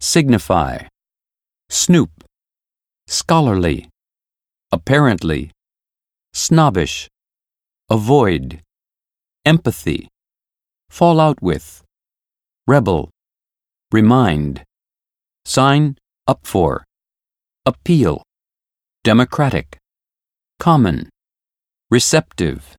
signify, snoop, scholarly, apparently, snobbish, avoid, empathy, fall out with, rebel, remind, sign up for, appeal, democratic, common, receptive,